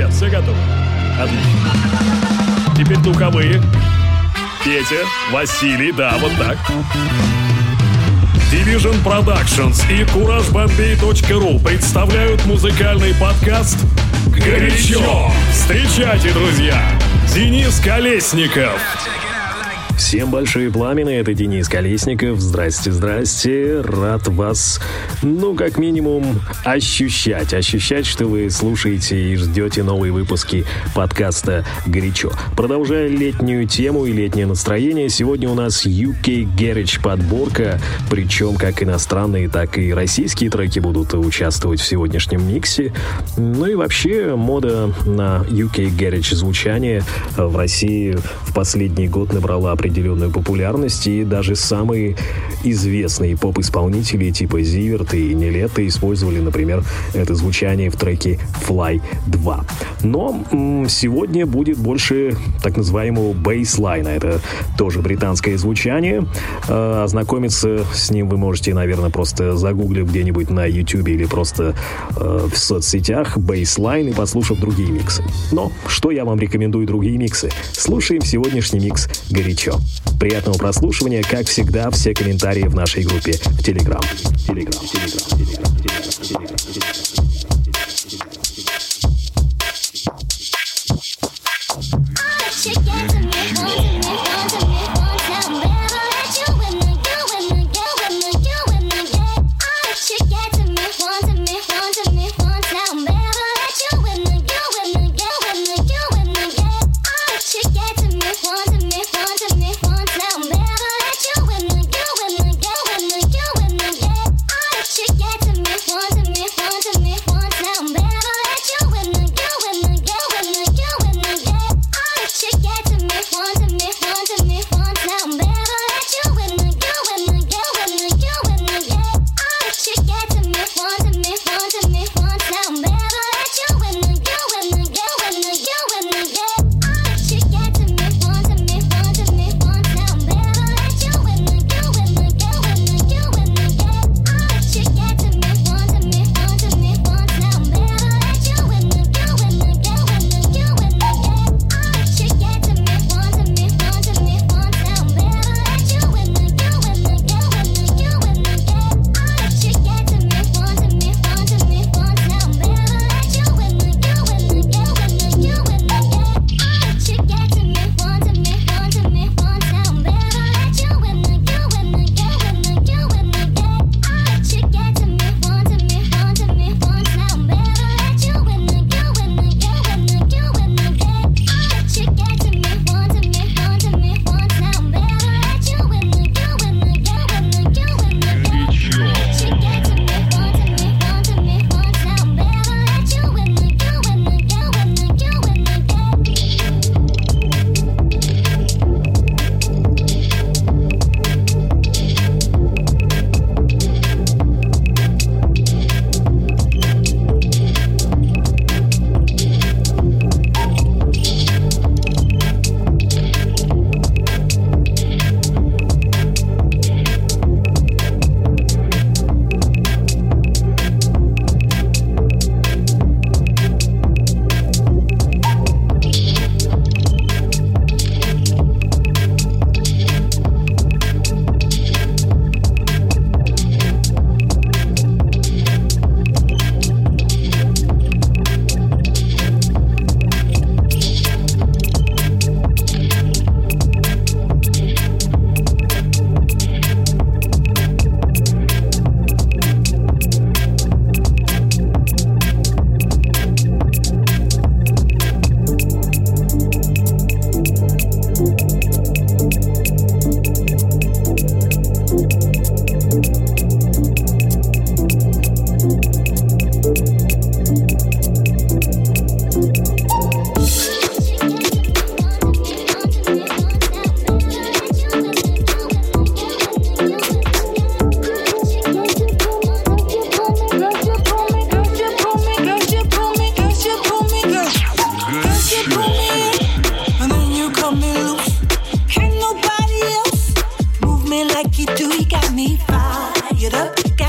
ребят, все готовы? Отлично. Теперь духовые. Петя, Василий, да, вот так. Division Productions и CourageBombay.ru представляют музыкальный подкаст «Горячо». Встречайте, друзья, Денис Колесников. Всем большие пламена, это Денис Колесников. Здрасте, рад вас, как минимум, ощущать, что вы слушаете и ждете новые выпуски подкаста «Горячо». Продолжая летнюю тему и летнее настроение, сегодня у нас UK Garage подборка, причем как иностранные, так и российские треки будут участвовать в сегодняшнем миксе. И вообще, мода на UK Garage звучание в России в последний год набрала определенную популярность, и даже самые известные поп-исполнители типа Зиверт и Нилетто использовали, например, это звучание в треке Fly 2. Но сегодня будет больше так называемого бейслайна. Это тоже британское звучание. Ознакомиться с ним вы можете, наверное, просто загуглив где-нибудь на YouTube или просто в соцсетях бейслайн и послушав другие миксы. Но что я вам рекомендую другие миксы? Слушаем сегодняшний микс «Горячо». Приятного прослушивания, как всегда, все комментарии в нашей группе в Telegram.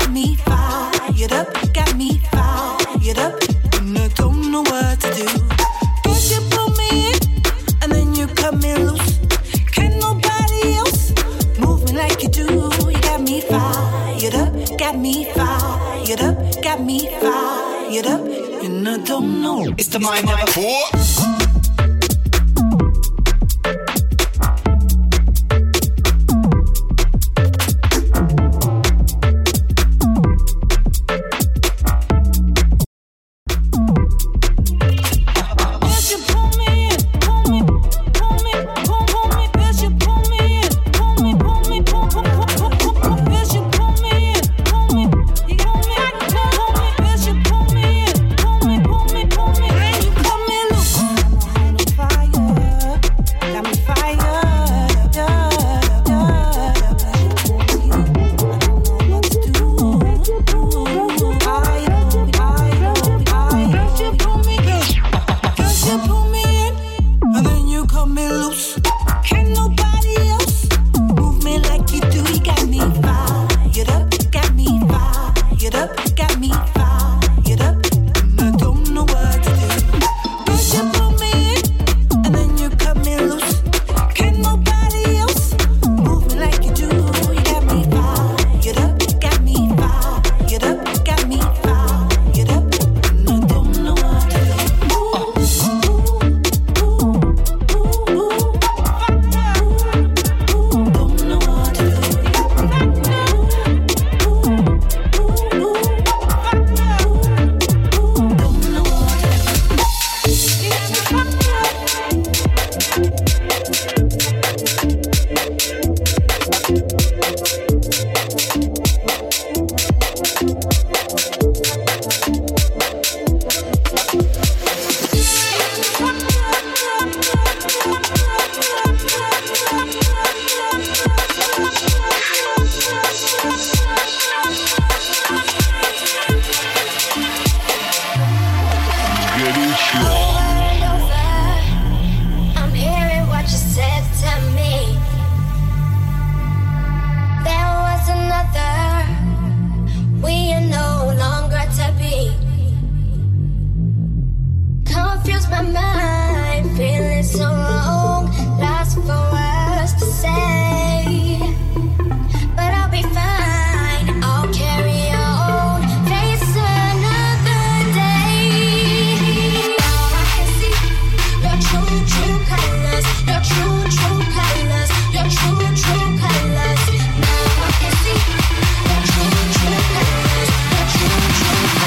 fired up, got me fired up, and I don't know what to do. got me fired up, got me fired up, and I don't know. It's the mind of a fool.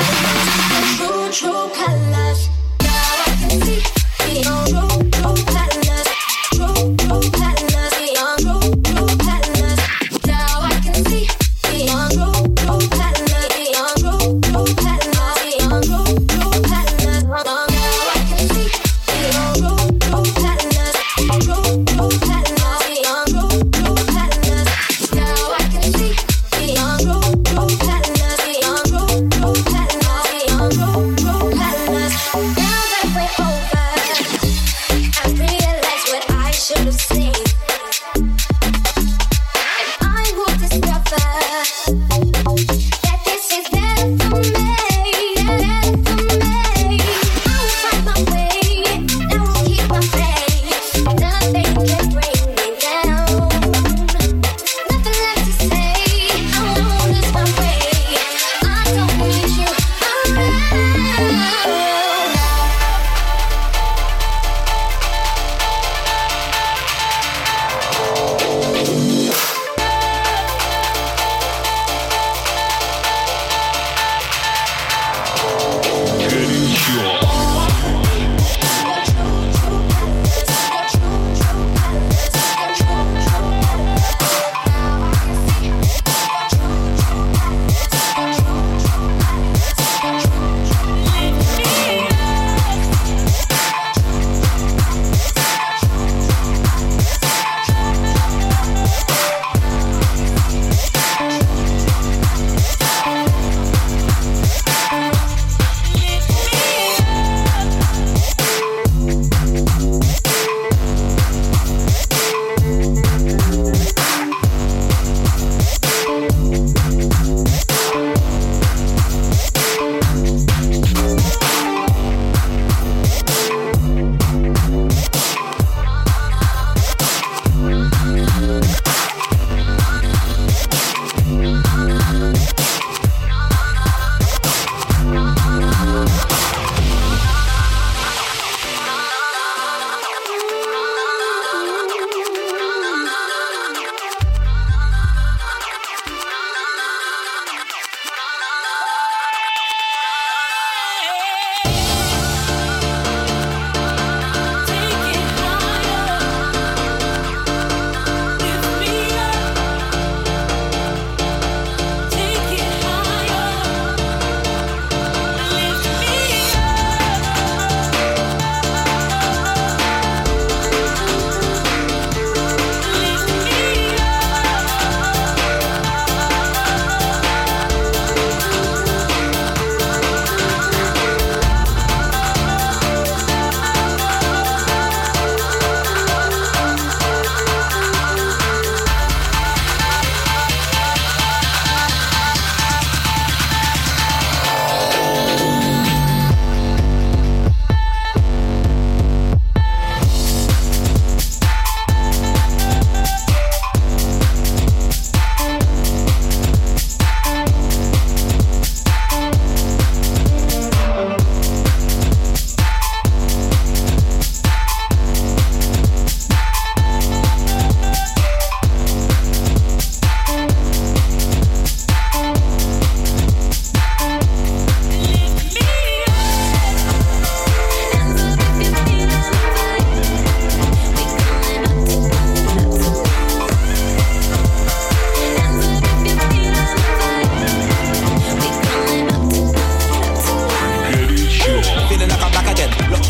True colors. Now I can see your true colors.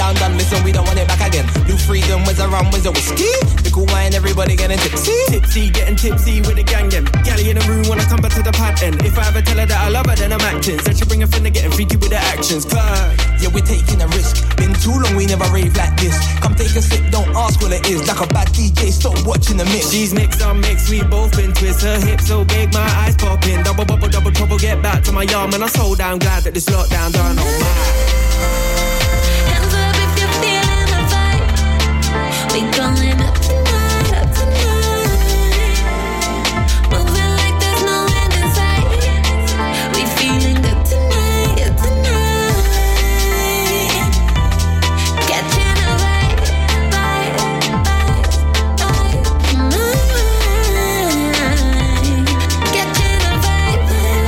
done. Listen, we don't want it back again. New freedom, where's the rum, where's the whiskey? The cool wine, everybody getting tipsy. Tipsy, getting tipsy with the gang, them. Gally in the room when I come back to the pad end. If I ever tell her that I love her, then I'm acting. Said she bring a friend to getting freaky with the actions. Cause, yeah, we're taking a risk. Been too long, we never rave like this. Come take a sip, don't ask what it is. Like a bad DJ, stop watching the mix. She's mixed on mix, we both been twist. Her hips so big, my eyes popping. Double bubble, double trouble, get back to my yard. Man, I'm so damn glad that this lockdown done. Oh my. Hands up if you're feeling the vibe. We going up tonight, up tonight. Moving like there's no end in sight. We feeling good tonight, yeah, tonight. Catching a vibe, vibe, vibe, vibe. Catching a vibe,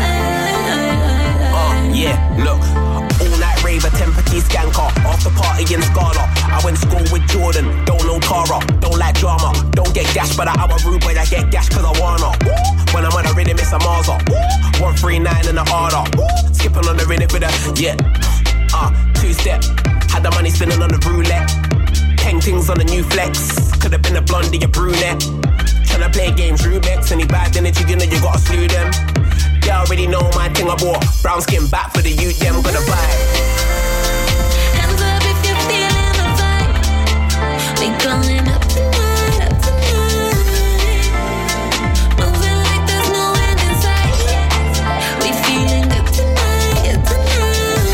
vibe. Yeah, look. All night raver, Temperature skanker. After party in Scala. I went school with Jordan. Don't know Tara. Don't like drama. Don't get gashed by the hour rude boy. I get gashed cause I wanna. When I'm on a rhythm, it's a Marza. 139 in the harder. Skipping on the rhythm with a, yeah. Two-step. Had the money spinning on the roulette. 10 things on the new flex. Could've been a blondie, a brunette. Tryna play games, Rubik's. Any bad energy, you know you gotta slew them. They already know my thing I bought. Brown skin back for the youth, yeah, I'm gonna buy. Hands up if you're feeling the vibe. We going up tonight, up tonight. Moving like there's no end in sight. We feeling good tonight, yeah, tonight.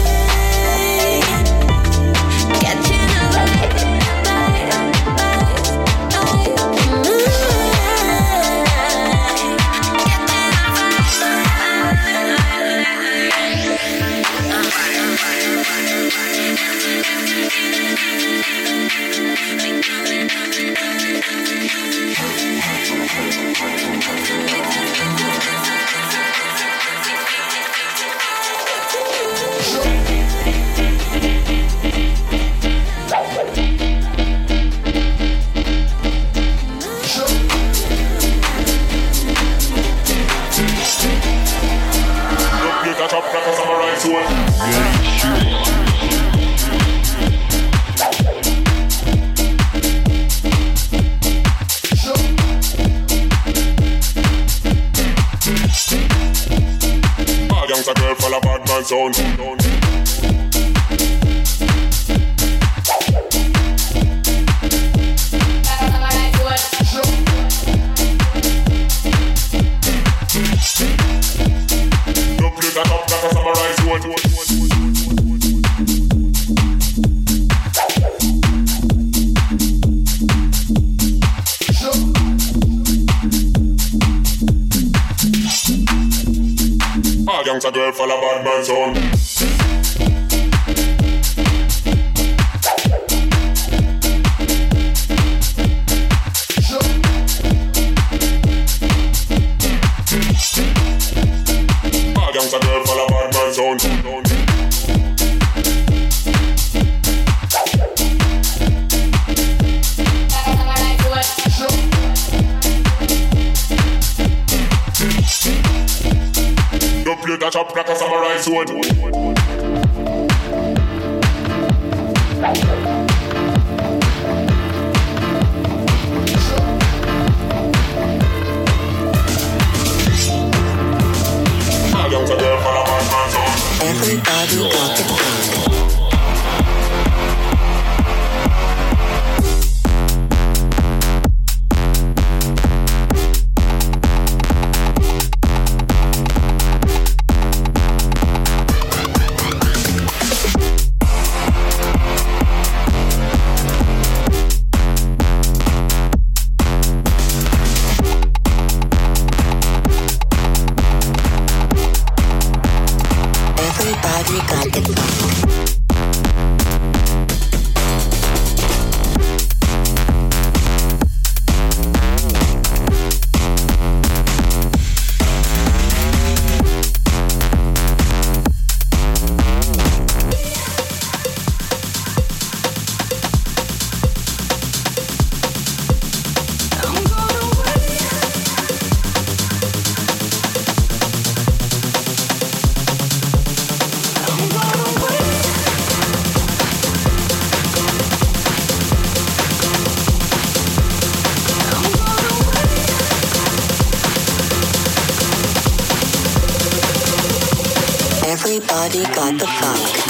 Catching a vibe, vibe, vibe, vibe. Young's a girl full of bad man sound. Don't play that up like a samurai sword. Young's a girl full of bad man sound. Young's a girl full of bad man sound. Play that up like a samurai sword. Everybody got the feeling. Everybody got the funk.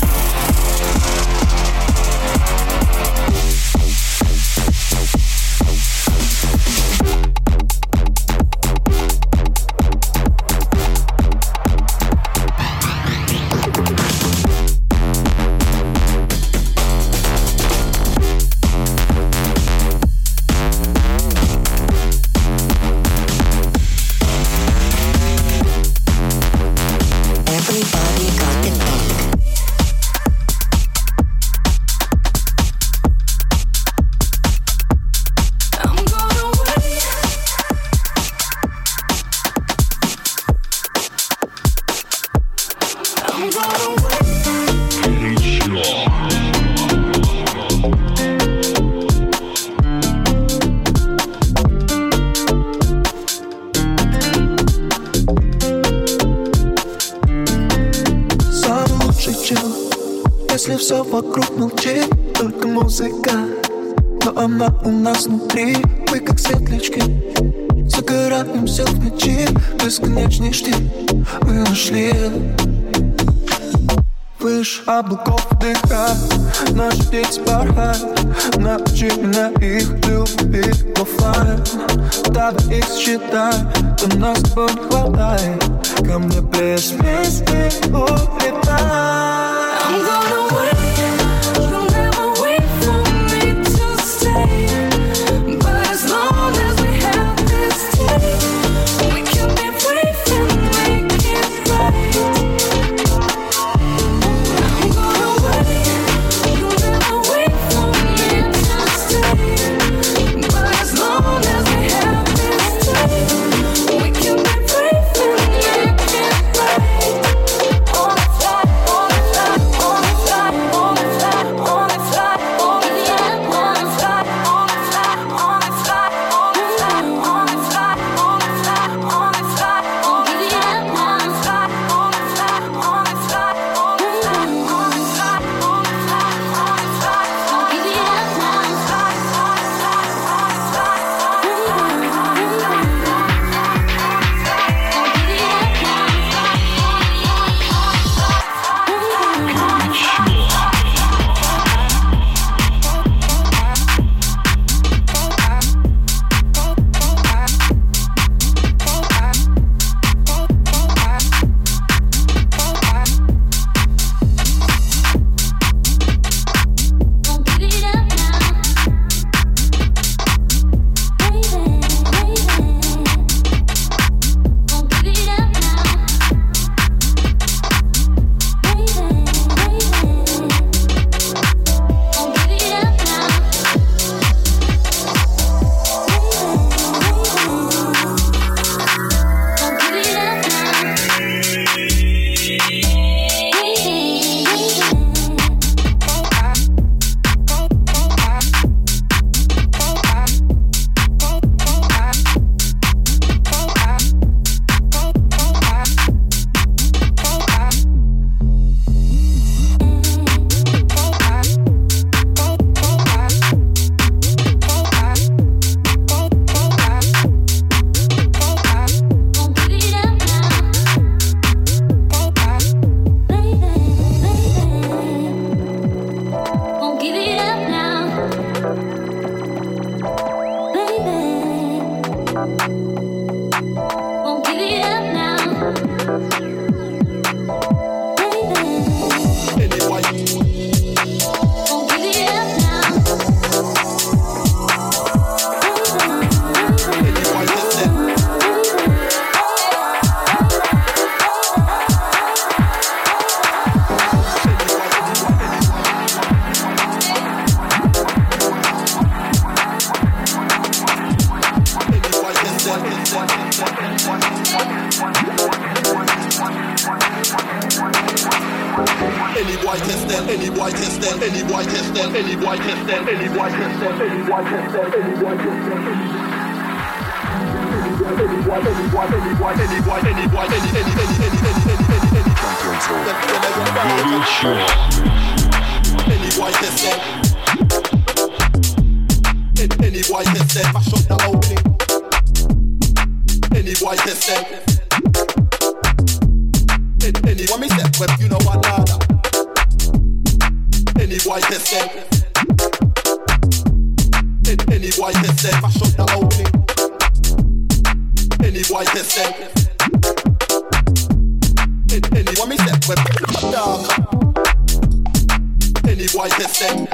Если все вокруг молчит, только музыка, но она у нас внутри. Мы как светлячки, загораемся в ночи. Бесконечный штиль мы нашли. Выше облаков дыха, наши птицы порхают. Научи меня их любить в оффлайн. Давай их считай, то нас с тобой не хватает. Ко мне без вместе улетай. I'm gonna wait, you'll never wait for me to stay. But as long as we have this taste, we can be brave and make it right. I'm gonna wait, you'll never wait for me to stay. But as long as we have this taste, we can be brave and make it right. On the fly, on the fly. Any boy can stand, any boy can stand, any boy can stand, any boy can stand, any boy can stand, any boy can stand, any boy can stand, any boy can stand, mash up the opening. Any boy can stand. Any what me say? web, you know what, nada. Any boy test them. Any boy test them, mash up the whole thing. Any boy test them. Any what me say, web, dog. Any boy test them.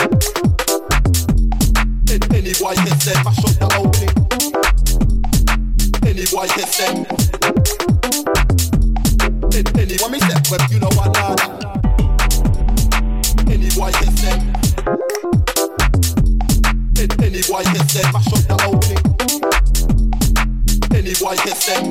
Any boy test them, mash up the whole thing. Any boy test them. Any what me say, web, you know what, nada. Any boy test them. Any boy test them, mash up the whole thing. Any boy test them.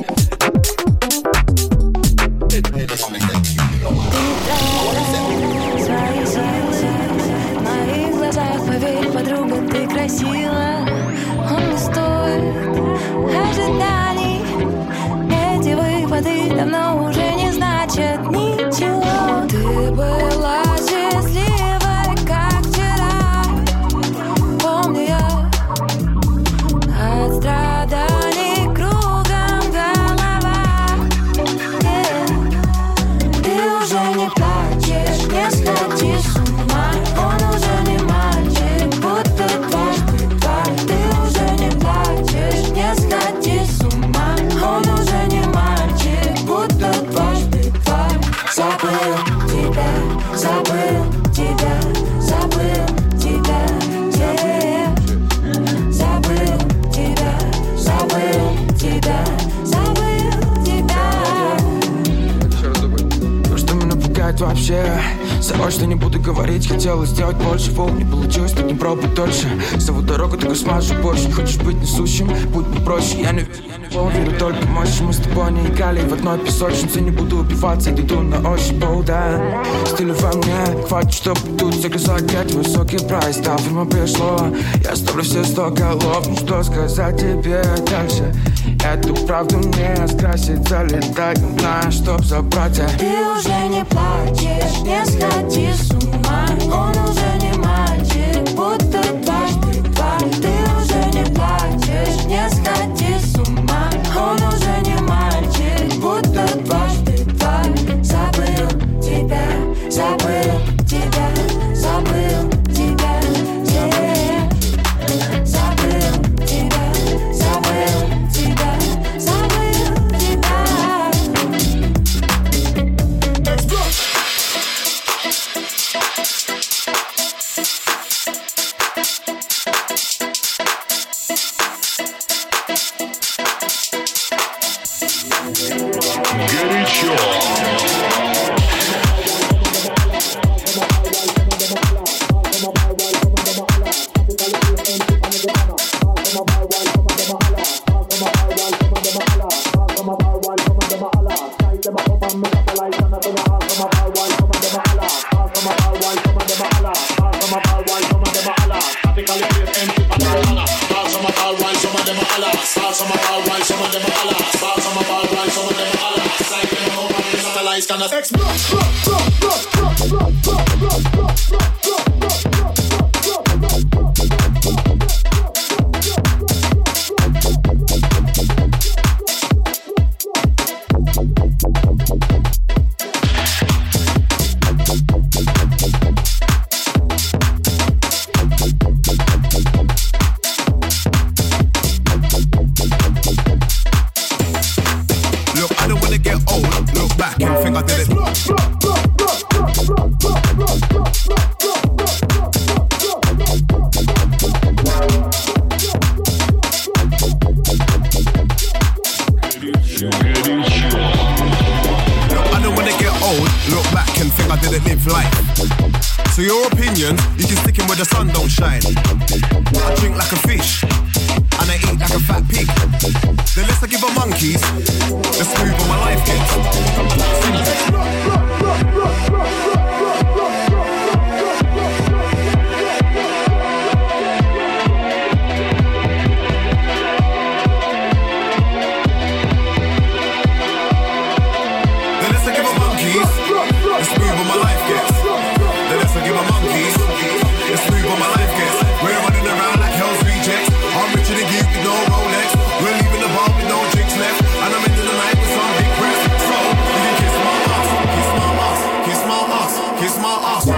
Any what me say, you know what I say. Свои силы в моих глазах, поверь, подруга, ты красива. Он не стоит ожиданий. Эти выпады давно уже не значат ничего. Ты была счастливой, как вчера. Помню я от страданий кругом голова. Ты уже не плачешь, не сходишь с ума. Он уже не мальчик, будто дважды два. Ты уже не плачешь, не сходишь с ума. Он уже не мальчик, будто дважды два. Забыл тебя, забыл тебя, забыл тебя, забыл тебя, забыл тебя, забыл тебя. То, что меня пугает вообще, собой, что не буду говорить, хотела сделать больше, не получилось, так не пробуй дольше. С тобой дорогу только смажу больше. Не хочешь быть несущим, будь попроще. Я не верю только в мощь. Мы с тобой не играли в одной песочнице. Не буду убиваться, иду на ощупь, да. Стиль во мне, хватит, чтобы тут заказать высокий прайс. Да, время пришло, я ставлю все 100 голов. Ну что сказать тебе дальше? Эту правду мне скрасит, залетать, не знаю, чтоб забрать. Ты уже не плачешь, не сходишь с ума. Он уже не мальчик, будто дважды два. Ты уже не плачешь, не сходишь с ума. Он уже не мальчик, будто дважды два. Забыл тебя, забыл тебя, забыл тебя, забыл тебя, забыл тебя, забыл тебя. Горячо. So your opinion, you can stick in where the sun don't shine. I drink like a fish, and I eat like a fat pig. The less I give a monkeys, the smoother my life gets. We're leaving the bar with no drinks left, and I'm into the night with some big breasts. So you can kiss my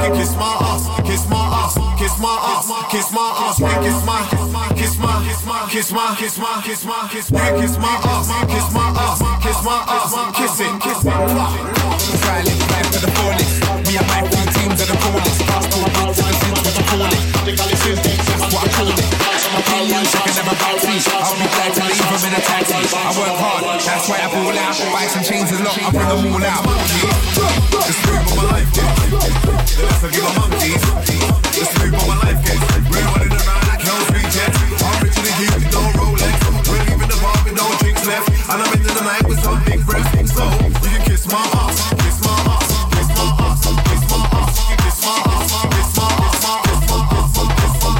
You kiss my ass, kiss my ass, kiss my ass, kiss my ass. You kiss my, kiss my, kiss my, kiss my, kiss my, kiss my, kiss my ass, kiss my ass, kiss my ass, kiss it, kiss it. Silent life to the fullest. Me and my three teams are the coolest. Passport to the sins, what you call it. That's what I call it. Opinions I can never bounce me. I'll be glad to leave them in a taxi. I work hard, that's why I ball out. Buy some chains and lock, I bring them all out. The smooth of my life, yeah. The less I give a monkeys. The smooth of my life, yeah. We're running around like Hell's Rejects. I'm richer than you with no Rolex. We're leaving the bar with no drinks left. And I'm ending the night with some big breasts. So you can kiss my ass, kiss my ass, kiss my ass, kiss my ass. You can kiss my ass, kiss my ass, kiss my ass, kiss my ass, kiss my ass, kiss my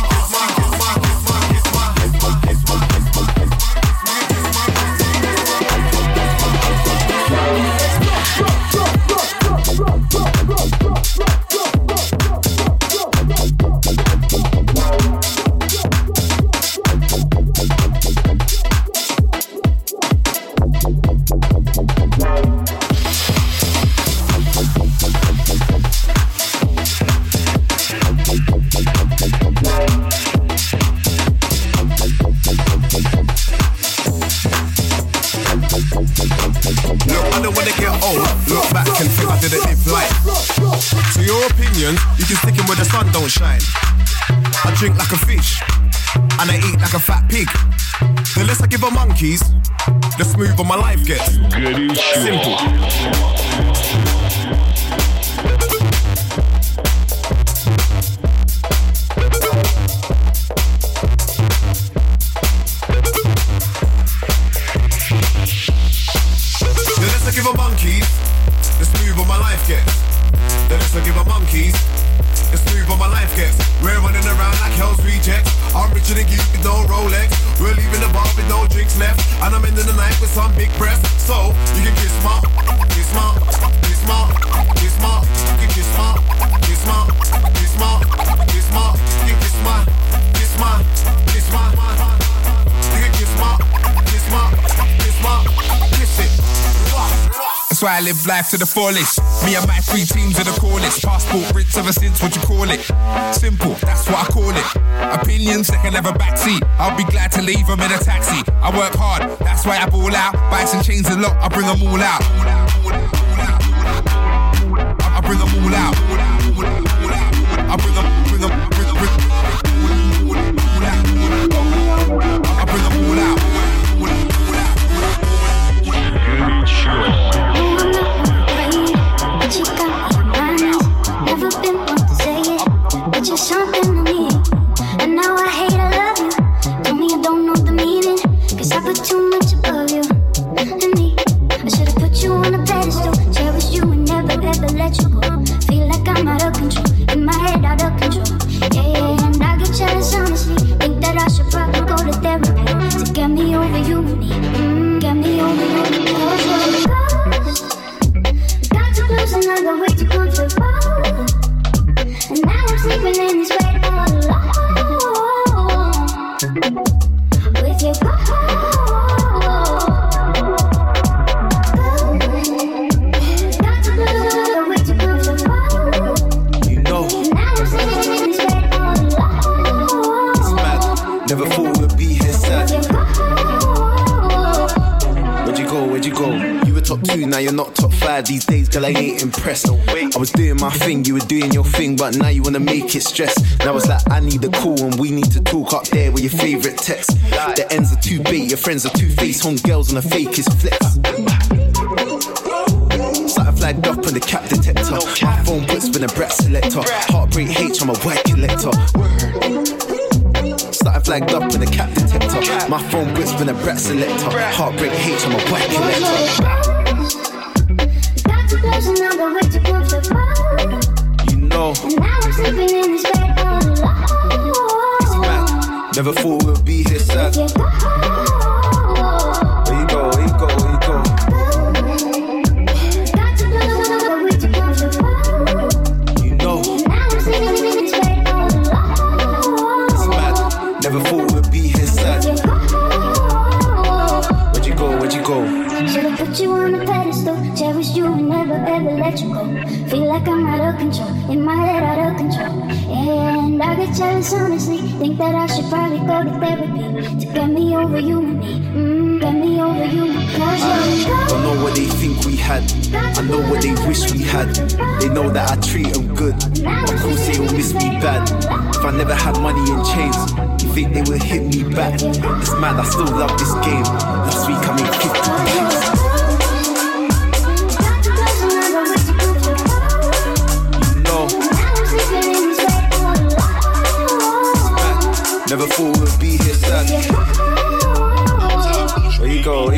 So your opinion, you can stick 'em where the sun don't shine. I drink like a fish, and I eat like a fat pig. The less I give a monkeys, the smoother my life gets. Simple. The less I give a monkeys, the smoother my life gets. The less I give a monkeys, the smoother my life gets. We're running around like Hell's Rejects. I'm richer than you with no Rolex. We're leaving the bar with no drinks left. And I'm ending the night with some big breasts. So you can kiss my, kiss my, kiss my, kiss my. You can kiss my, kiss my, kiss my, kiss my. You can kiss my, kiss my, kiss my. You can kiss my, kiss my, kiss my, kiss it. That's why I live life to the fullest. Me and my three teams are the coolest. Passport rich ever since, what you call it. Simple, that's what I call it. Opinions, they can have a backseat. I'll be glad to leave them in a taxi. I work hard, that's why I ball out. Buy some chains and lock, I bring them all out. I bring them all out. I bring them, bring them, bring them, bring them. I bring them all out. But you got me honest. Never been one to say it, but you're something to me. And now I hate I love you. Tell me you don't know the meaning, 'cause I put too much above you and me. I should've put you on a pedestal, cherished you and never ever let you go. Feel like I'm out of control, in my head out of control. Yeah, and I get jealous honestly. Think that I should probably go to therapy to get me over you and me. Get me over you and me. And I go way too comfortable. And now I'm sleeping in this bed all alone. With your go. Got to go way too comfortable. You know. And now I'm sleeping in this bed all alone. It's mad. Never thought we'd be here sad. Where'd you go? Where'd you go? You were top 2, now you're not top 5. These days, girl, I ain't impressed. I was doing my thing, you were doing your thing, but now you wanna make it stress. Now it's like I need a call and we need to talk up there with your favourite text. The ends are too bait, your friends are two-faced, home girls on the fakest flex. Something flagged up on the cap detector. My phone puts been a brat selector. Heartbreak H, I'm a white collector. Something flagged up in the cap detector. My phone puts been a brat selector. Heartbreak H, I'm a white collector. And I go way too comfortable. You know. And now I'm sleeping in this bed all alone. It's mad. Never thought we'd be here sad. Where you go? Where you go? Where you go? Where you go? Got to go way too comfortable. You know. And now I'm sleeping in this bed all alone. It's mad. Never thought we'd be here sad. Where'd you go? Where'd you go? Where'd you go? Should've put you on a pedestal, cherished you and never ever let you go. Feel like I'm out of control, in my head out of control. And I get jealous honestly, think that I should probably go to therapy to get me over you and me, get me over you and me. Don't know what they think we had, I know what they wish we had. They know that I treat them good, of course they will miss me bad. If I never had money and chains, you think they would hit me back? It's mad, I still love this game. Last week I made 50 million. Never thought we'd be here sad. Ego.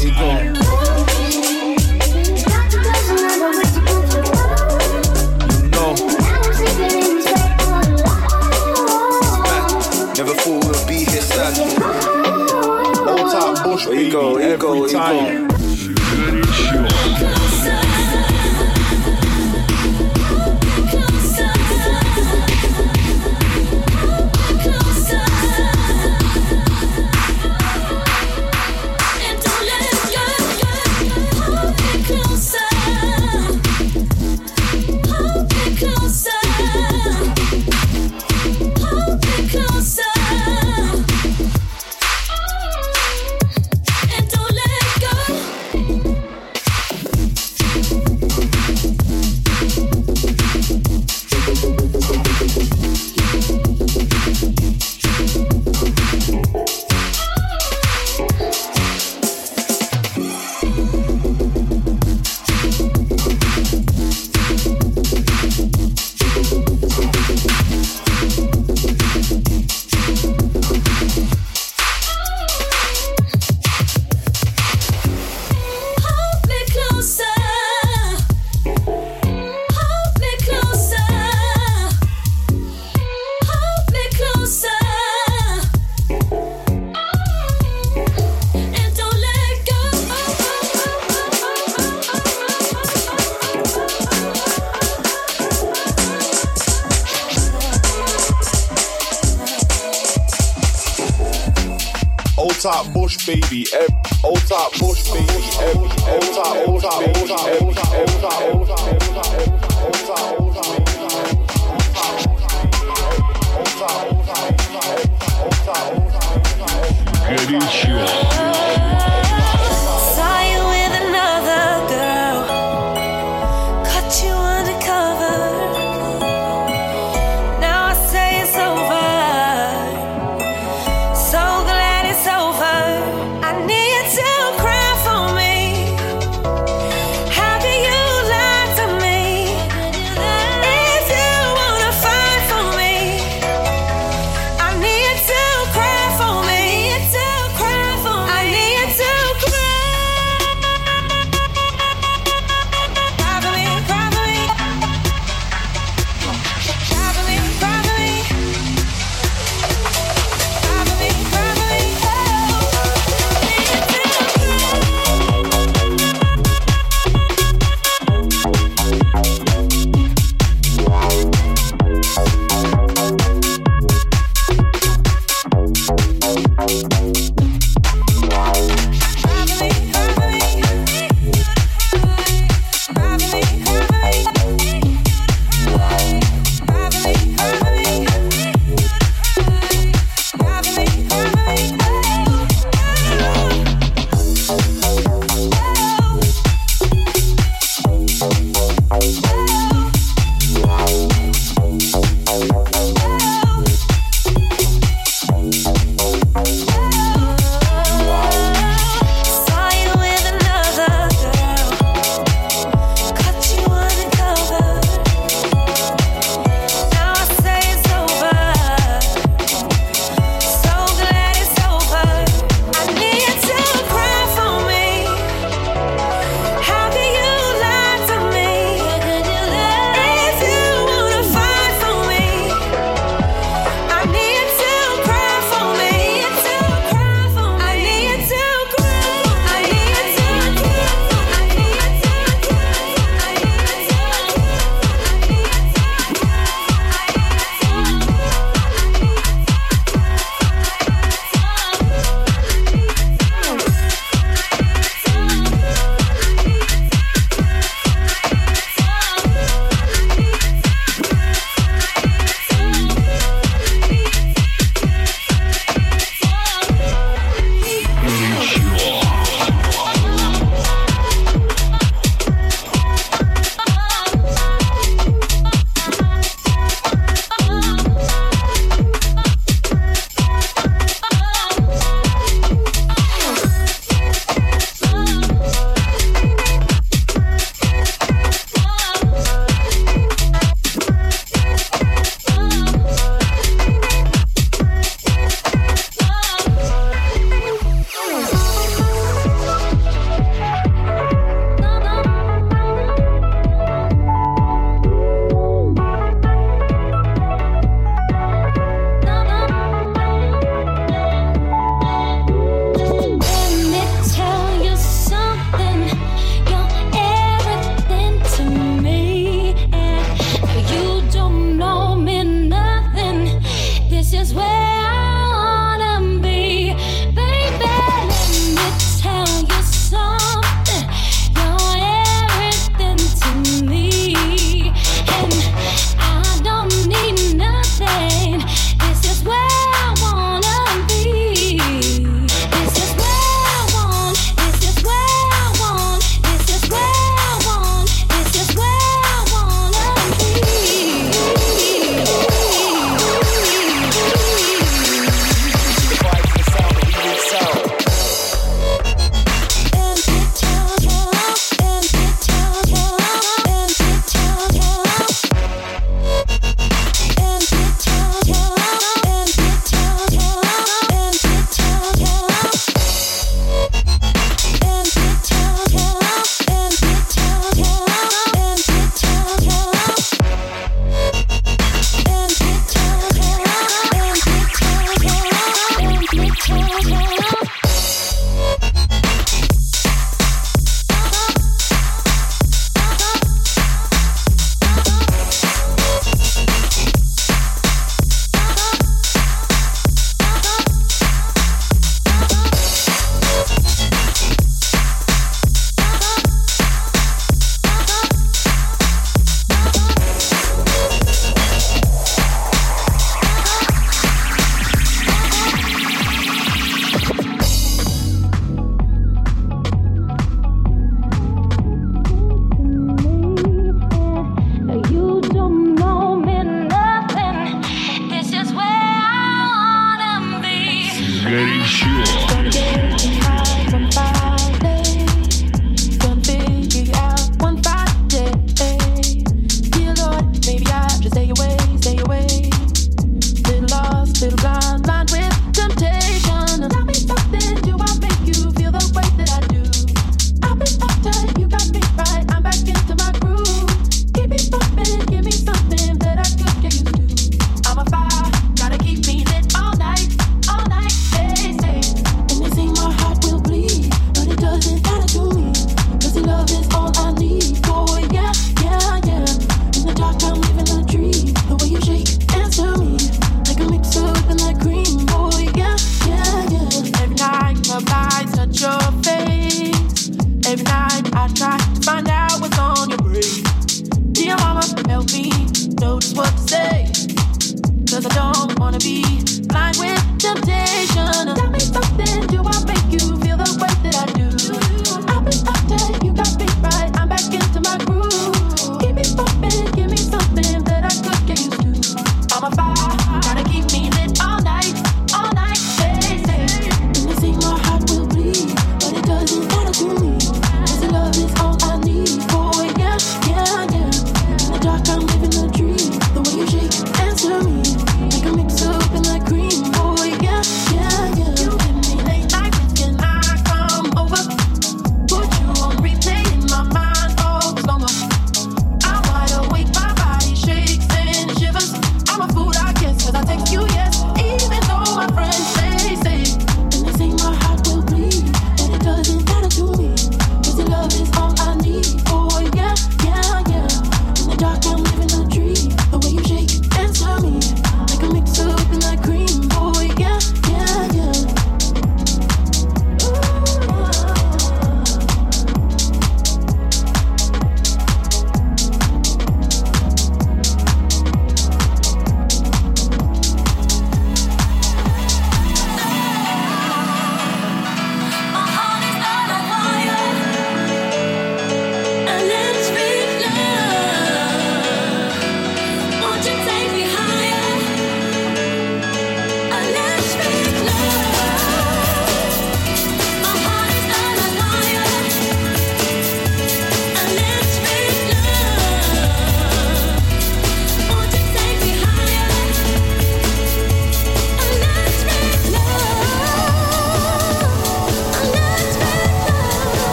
No. Never thought we'd be here sad. Old time bush, ego. top bush baby, old top bush baby, old top Saw you with another girl, caught you undercover. Now I say it's over. So glad it's over. I need you to cry for me. How can you lie to me?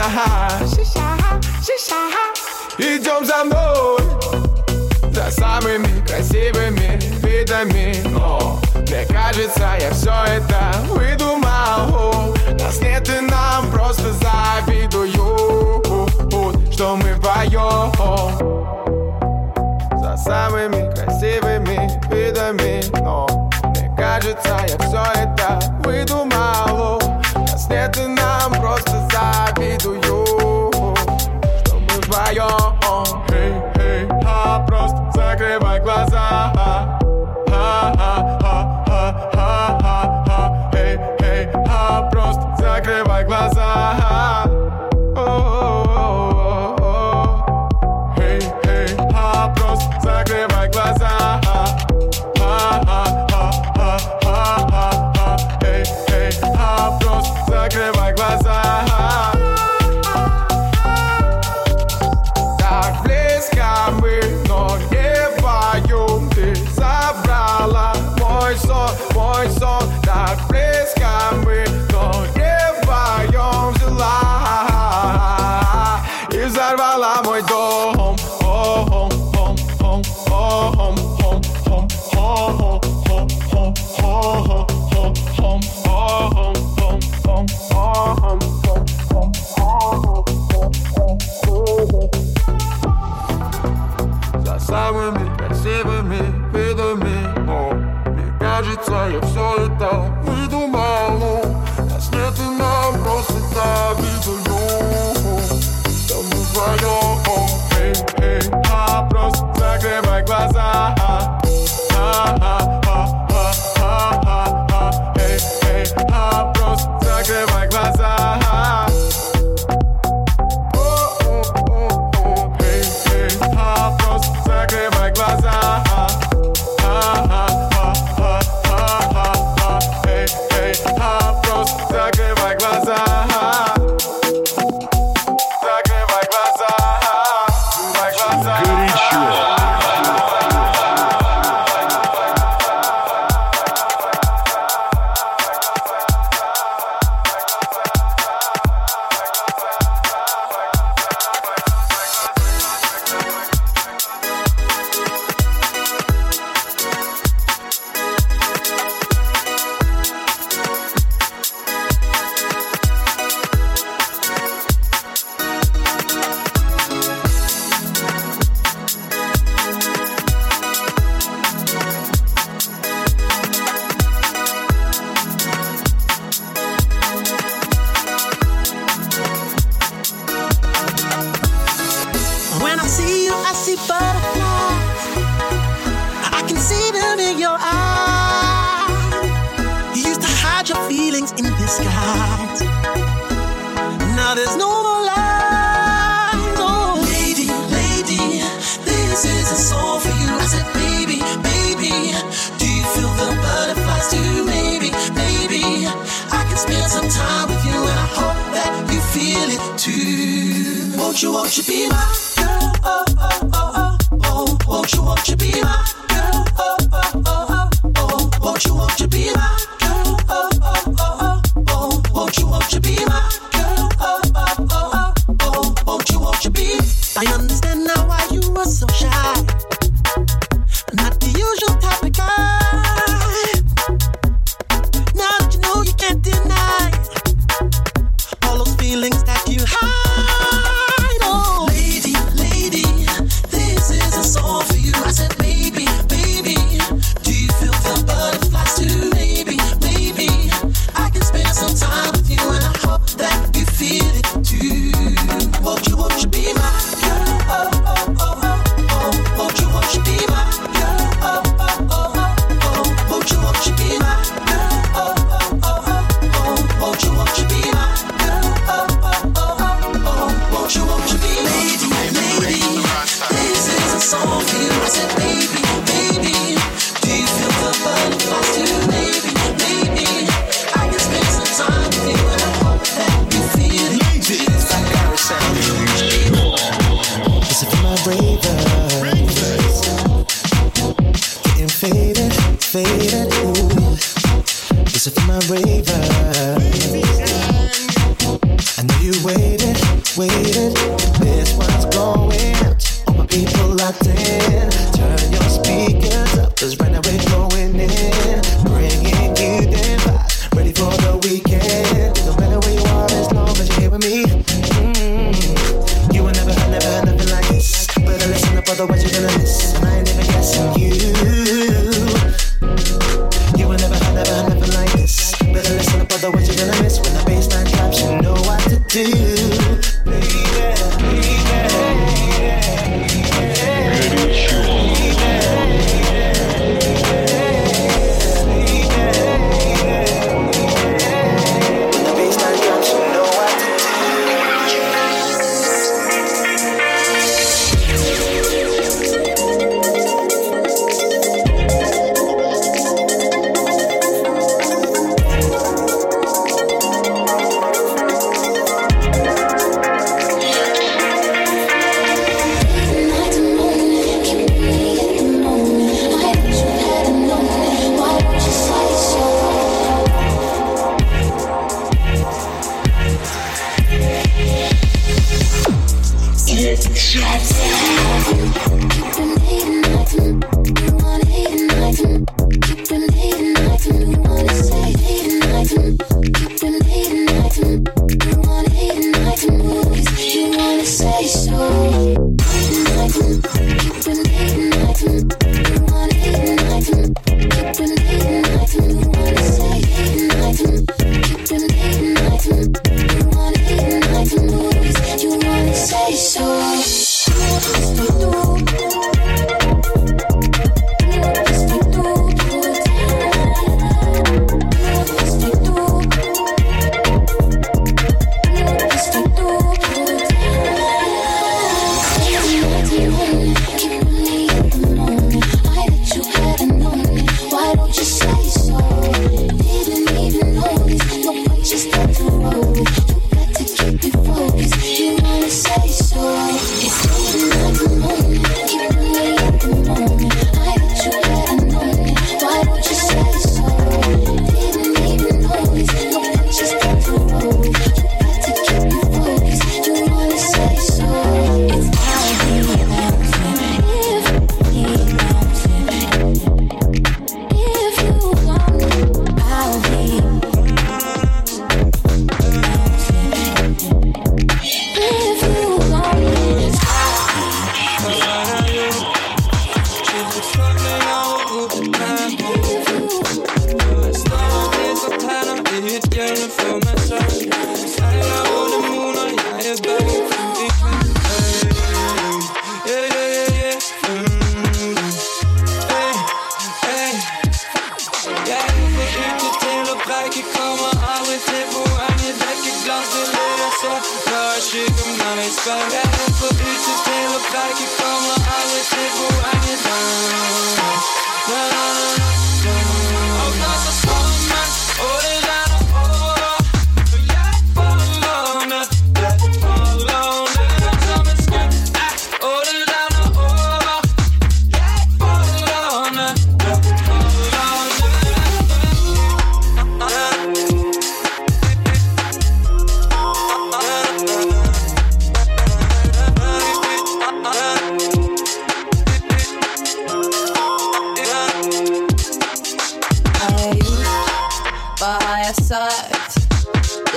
Идем за мной, за самыми красивыми видами. О, мне кажется, я все это выдумал. Нас нет и нам просто завидуют, что мы вдвоем. За самыми красивыми видами. Но мне кажется, я все это выдумал. Нас нет и нам просто завидуют, что мы вдвоем. Эй, эй, просто закрывай глаза. Эй, эй, просто закрывай глаза. Эй, эй, просто закрывай глаза. Эй, эй, просто закрывай глаза. Так близко мы, но не вдвоем. Ты забрала мой сон. Так близко мы, но не вдвоем взяла и взорвала мой дом. За самыми красивыми видами. Но мне кажется, я все это выдумал. Нас нет и нам просто завидуют, что мы вдвоем. Эй, эй, просто закрывай глаза. Эй, эй, просто закрывай глаза. Эй, эй, просто закрывай глаза. Эй, эй, просто закрывай глаза. Закрывай глаза. Закрывай глаза. Горячо. When I see you, I see butterflies. I can see them in your eyes. You used to hide your feelings in disguise. Now there's no more lies. Oh, lady, lady, this is a song for you. I said, baby, baby, do you feel the butterflies too? Maybe, maybe I can spend some time with you, and I hope that you feel it too. Won't you be my girl? Oh, oh, oh, oh, oh. Won't you be my girl? Oh, oh, oh, oh, oh. Won't you be my girl? Oh, oh, oh, oh, oh. Won't you be my girl? Oh, oh, oh, oh, oh. Won't you be? I understand now why you were so shy. Not the usual type of guy. Now that you know you can't deny all those feelings that you hide. Oh, lady, lady, this is a song for you. I said, baby, baby, do you feel the butterflies too? Maybe, maybe I can spend some time with you, and I hope that you feel it too. Won't you be my girl? Oh, oh, oh, oh, oh. Won't you be my girl? Oh, oh, oh, oh, oh. Won't you be my girl? Oh, oh, oh, oh, oh. Won't you be my girl? Oh, oh, oh, oh, oh. Won't you be lady, lady? This is a song for you. I said, baby, baby, do you feel the butterflies too? Maybe, maybe I can spend some time with you, and I hope that you feel it too. This is for my ravers, getting faded, faded. Ooh. This is for my ravers. I know you waited, otherwise you're gonna miss. And I ain't even guessing you. You will never have nothing like this. Better listen up, otherwise you're gonna miss. When the baseline drops, you know what to do.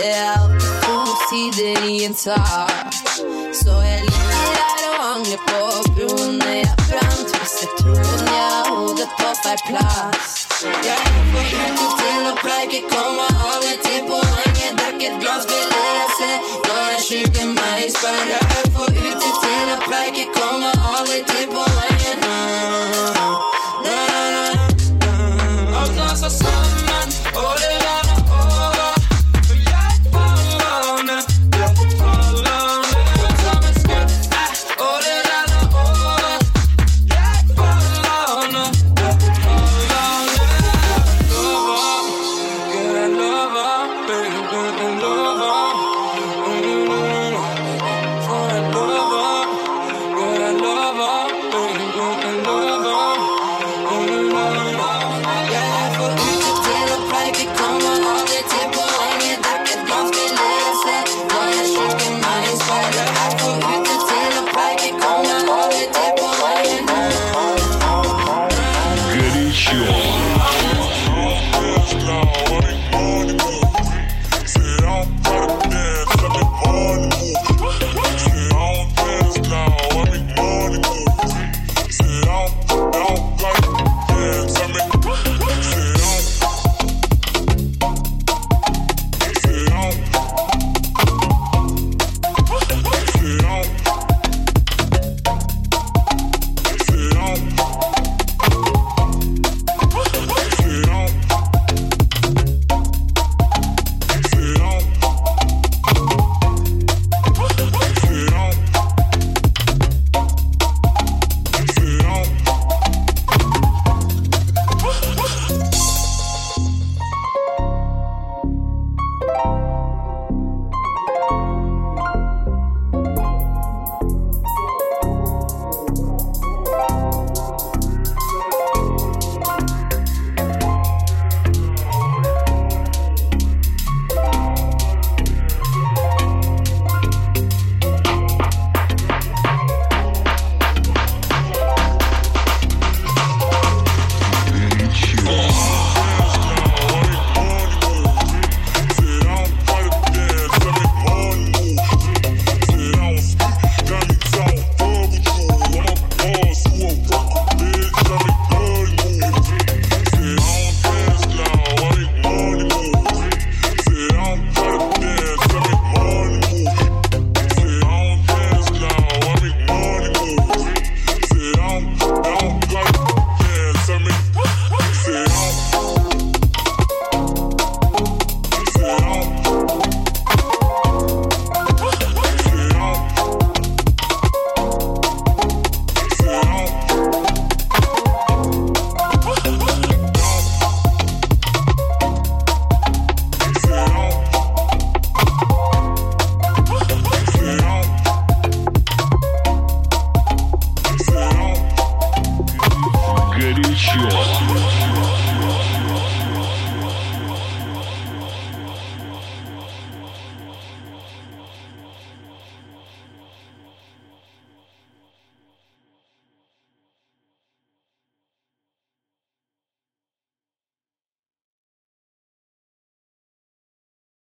Så jag ligger där och ångrar på